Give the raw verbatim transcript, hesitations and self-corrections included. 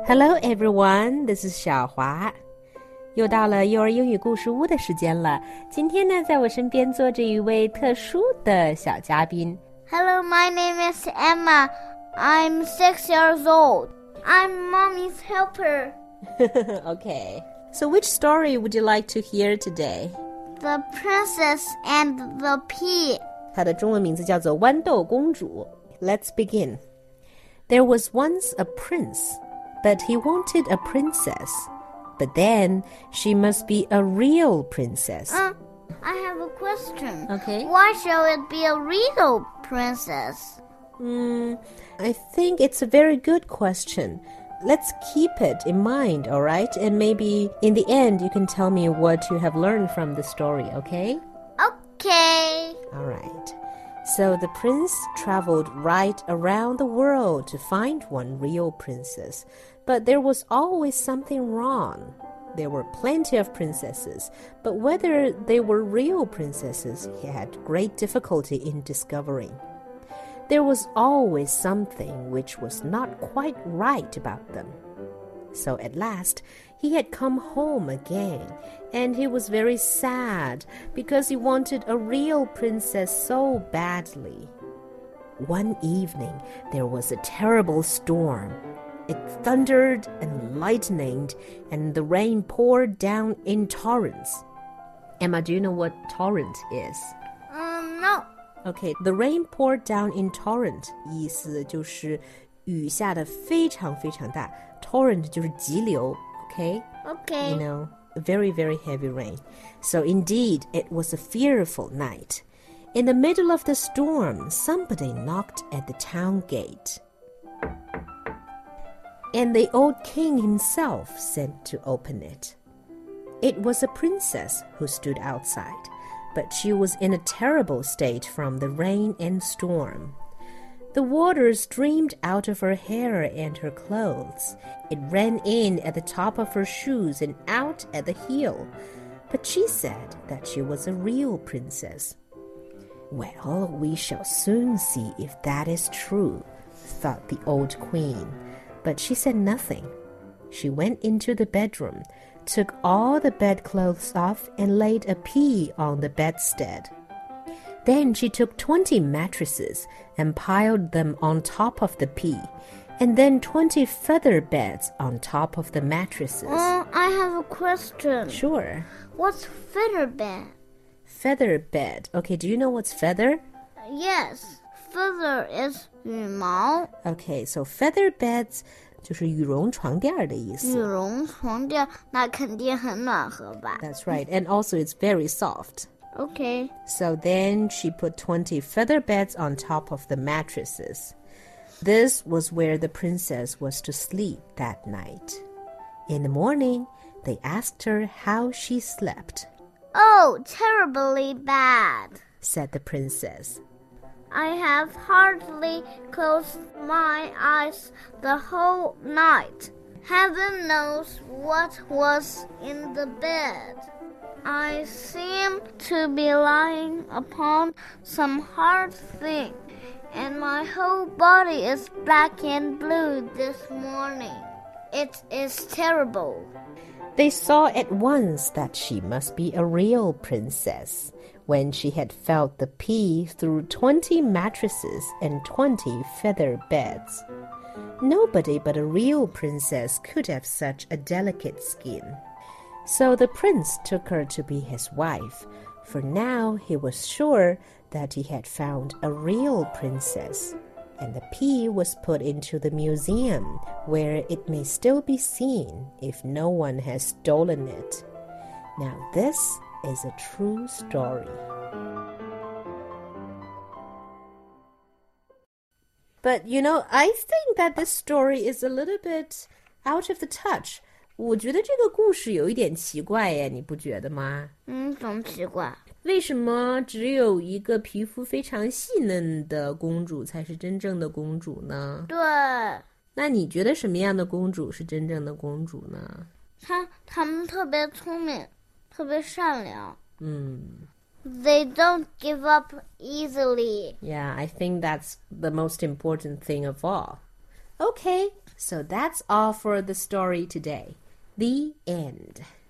Hello everyone, this is 小华。又到了幼儿英语故事屋的时间了。今天呢，在我身边坐着一位特殊的小嘉宾。 Hello, my name is Emma. I'm six years old. I'm mommy's helper. Okay. So which story would you like to hear today? The Princess and the Pea. 它的中文名字叫做豌豆公主。Let's begin. There was once a prince, but he wanted a princess.But then she must be a real princess. Uh, I have a question. Okay. Why shall it be a real princess? Hmm, I think it's a very good question. Let's keep it in mind, all right? And maybe in the end you can tell me what you have learned from the story, okay? Okay. All right. So the prince traveled right around the world to find one real princess.But there was always something wrong. There were plenty of princesses, but whether they were real princesses, he had great difficulty in discovering. There was always something which was not quite right about them. So at last, he had come home again, and he was very sad because he wanted a real princess so badly. One evening, there was a terrible storm.It thundered and lightninged, and the rain poured down in torrents. Emma, do you know what torrent is? Um, no. Okay, the rain poured down in torrent, 意思就是雨下得非常非常大。Torrent 就是急流 okay? Okay. You know, very, very heavy rain. So indeed, it was a fearful night. In the middle of the storm, somebody knocked at the town gate.And the old king himself sent to open it. It was a princess who stood outside, but she was in a terrible state from the rain and storm. The water streamed out of her hair and her clothes. It ran in at the top of her shoes and out at the heel. But she said that she was a real princess. Well, we shall soon see if that is true, thought the old queen.But she said nothing. She went into the bedroom, took all the bedclothes off, and laid a pea on the bedstead. Then she took twenty mattresses and piled them on top of the pea, and then twenty feather beds on top of the mattresses. Uh, I have a question. Sure. What's feather bed? Feather bed. Okay, do you know what's feather? Yes.Feather is 羽毛 Okay, so feather beds 就是羽绒床垫的意思。 羽绒床垫那肯定很暖和吧 That's right, and also it's very soft. Okay. So then she put twenty feather beds on top of the mattresses. This was where the princess was to sleep that night. In the morning, they asked her how she slept. Oh, terribly bad, said the princess.I have hardly closed my eyes the whole night. Heaven knows what was in the bed. I seem to be lying upon some hard thing, and my whole body is black and blue this morning. It is terrible. They saw at once that she must be a real princess.When she had felt the pea through twenty mattresses and twenty feather beds. Nobody but a real princess could have such a delicate skin. So the prince took her to be his wife, for now he was sure that he had found a real princess. And the pea was put into the museum, where it may still be seen if no one has stolen it. Now this...is a true story. But, you know, I think that this story is a little bit out of the touch. 我觉得这个故事有一点奇怪耶，你不觉得吗？ 嗯，怎么奇怪？ 为什么只有一个皮肤非常细嫩的公主才是真正的公主呢？ 对。 那你觉得什么样的公主是真正的公主呢？ 她她们特别聪明。特别善良。 嗯。 They don't give up easily. Yeah, I think that's the most important thing of all. Okay, so that's all for the story today. The end.